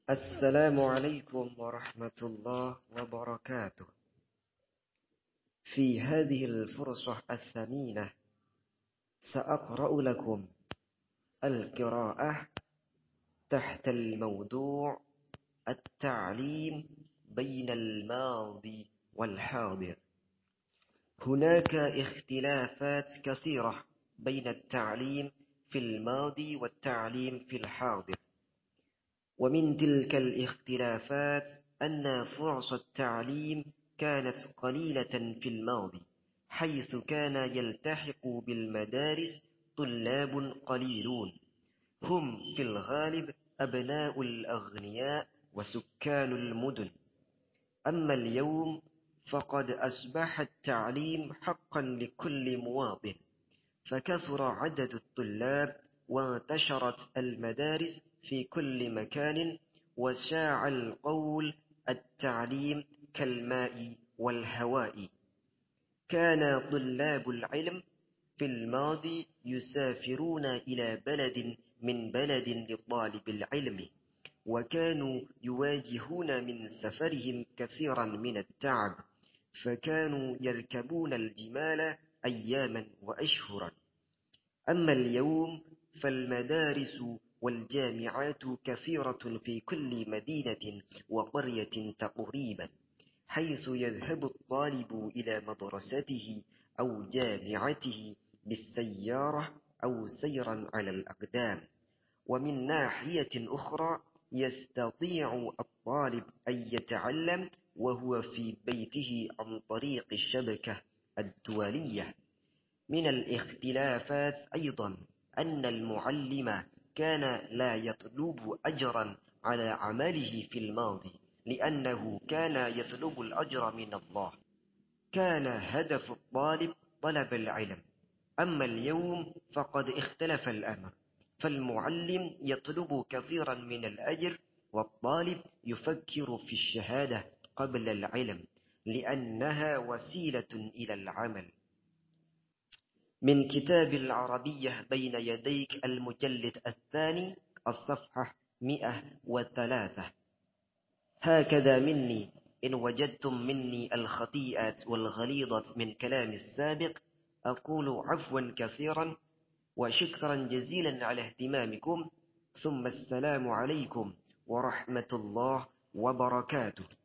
السلام عليكم ورحمة الله وبركاته. في هذه الفرصة الثمينة سأقرأ لكم القراءة تحت الموضوع التعليم بين الماضي والحاضر. هناك اختلافات كثيرة بين التعليم في الماضي والتعليم في الحاضر، ومن تلك الاختلافات أن فرص التعليم كانت قليلة في الماضي، حيث كان يلتحق بالمدارس طلاب قليلون، هم في الغالب أبناء الأغنياء وسكان المدن. أما اليوم فقد أصبح التعليم حقا لكل مواطن، فكثر عدد الطلاب وانتشرت المدارس في كل مكان، وشاع القول التعليم كالماء والهواء. كان طلاب العلم في الماضي يسافرون إلى بلد من بلد لطالب العلم، وكانوا يواجهون من سفرهم كثيرا من التعب، فكانوا يركبون الجمال أياما وأشهرا. أما اليوم فالمدارس والجامعات كثيرة في كل مدينة وقرية تقريبا، حيث يذهب الطالب إلى مدرسته أو جامعته بالسيارة أو سيرا على الأقدام. ومن ناحية أخرى يستطيع الطالب أن يتعلم وهو في بيته عن طريق الشبكة الدولية. من الاختلافات أيضا أن المعلم كان لا يطلب أجرا على عمله في الماضي، لأنه كان يطلب الأجر من الله، كان هدف الطالب طلب العلم. أما اليوم فقد اختلف الأمر، فالمعلم يطلب كثيرا من الأجر، والطالب يفكر في الشهادة قبل العلم، لأنها وسيلة إلى العمل. من كتاب العربية بين يديك المجلد الثاني الصفحة 103. هكذا مني إن وجدتم مني الخطيئات والغليظة من كلام السابق أقول عفوا كثيرا وشكرا جزيلا على اهتمامكم، ثم السلام عليكم ورحمة الله وبركاته.